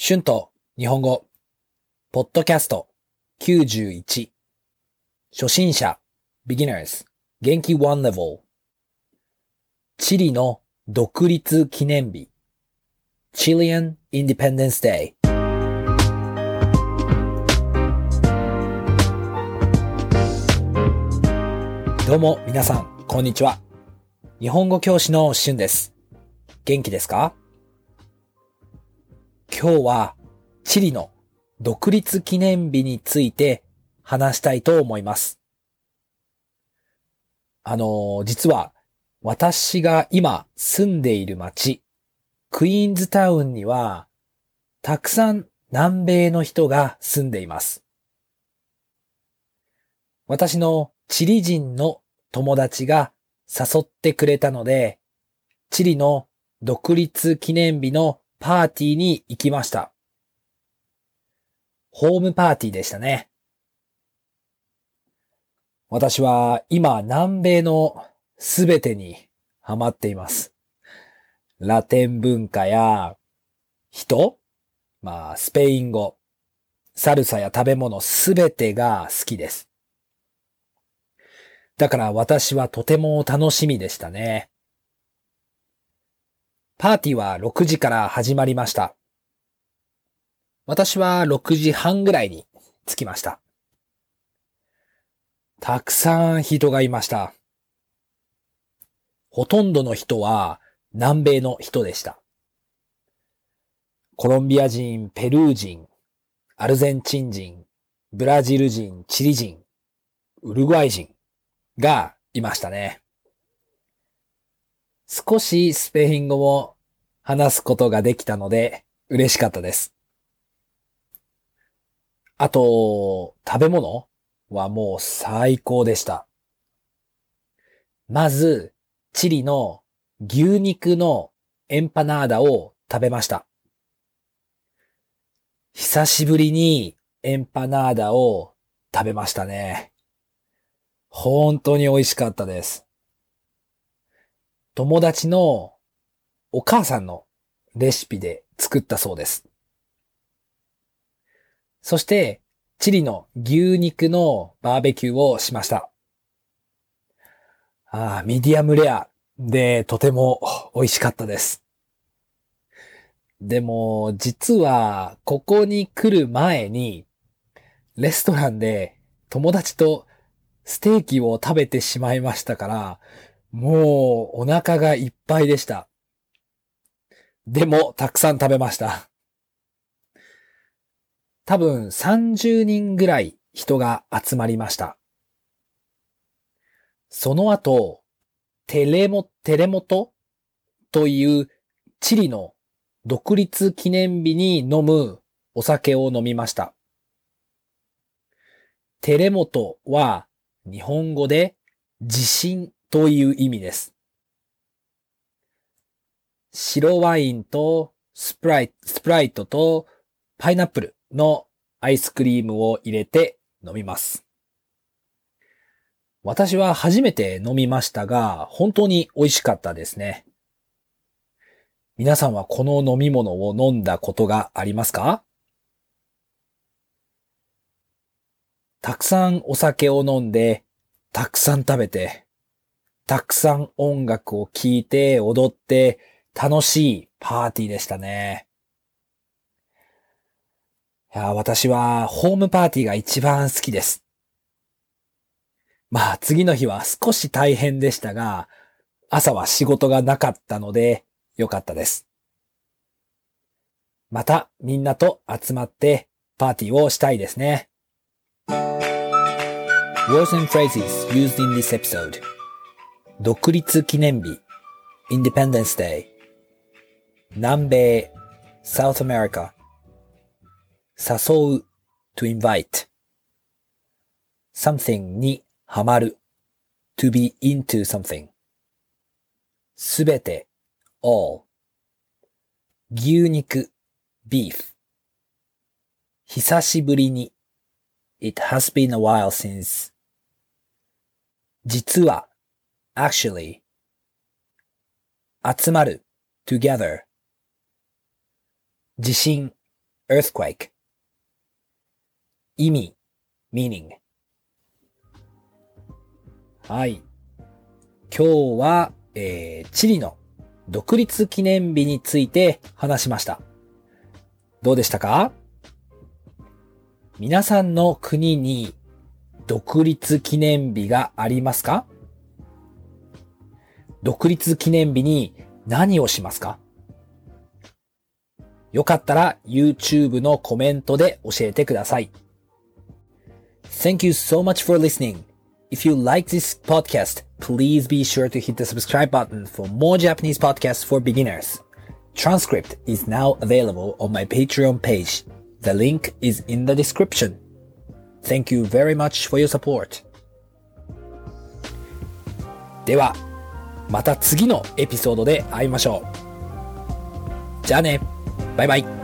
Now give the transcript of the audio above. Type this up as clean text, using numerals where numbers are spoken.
春と日本語、ポッドキャスト91、初心者、beginners、元気1 level、チリの独立記念日、Chilean Independence Day。どうも皆さん、こんにちは。日本語教師の春です。元気ですか？今日はチリの独立記念日について話したいと思います。実は私が今住んでいる町、クイーンズタウンにはたくさん南米の人が住んでいます。私のチリ人の友達が誘ってくれたので、チリの独立記念日のパーティーに行きました。ホームパーティーでしたね。私は今南米のすべてにハマっています。ラテン文化や人、スペイン語、サルサや食べ物すべてが好きです。だから私はとても楽しみでしたね。パーティーは6時から始まりました。私は6時半ぐらいに着きました。たくさん人がいました。ほとんどの人は南米の人でした。コロンビア人、ペルー人、アルゼンチン人、ブラジル人、チリ人、ウルグアイ人がいましたね。少しスペイン語も話すことができたので嬉しかったです。あと、食べ物はもう最高でした。まず、チリの牛肉のエンパナーダを食べました。久しぶりにエンパナーダを食べましたね。本当に美味しかったです。友達のお母さんのレシピで作ったそうです。そして、チリの牛肉のバーベキューをしました。ミディアムレアでとても美味しかったです。でも、実は、ここに来る前に、レストランで友達とステーキを食べてしまいましたから、もうお腹がいっぱいでした。でも、たくさん食べました。多分30人ぐらい人が集まりました。その後、テレモトというチリの独立記念日に飲むお酒を飲みました。テレモトは日本語で地震という意味です。白ワインとスプライトとパイナップルのアイスクリームを入れて飲みます。私は初めて飲みましたが、本当に美味しかったですね。皆さんはこの飲み物を飲んだことがありますか？たくさんお酒を飲んで、たくさん食べて、たくさん音楽を聴いて踊って楽しいパーティーでしたね。私はホームパーティーが一番好きです。次の日は少し大変でしたが、朝は仕事がなかったのでよかったです。またみんなと集まってパーティーをしたいですね。Words and phrases used in this episode. 独立記念日 Independence Day 南米 South America 誘う to invite something にハマる to be into something すべて all 牛肉 beef 久しぶりに It has been a while since 実は actually 集まる together 地震 earthquake 意味 meaning はい。今日は、チリの独立記念日について話しました。どうでしたか？皆さんの国に独立記念日がありますか？独立記念日に何をしますか？よかったら YouTube のコメントで教えてください。Thank you so much for listening. If you like this podcast, please be sure to hit the subscribe button for more Japanese podcasts for beginners. Transcript is now available on my Patreon page. The link is in the description. Thank you very much for your support. では、また次のエピソードで会いましょう。じゃあね。バイバイ。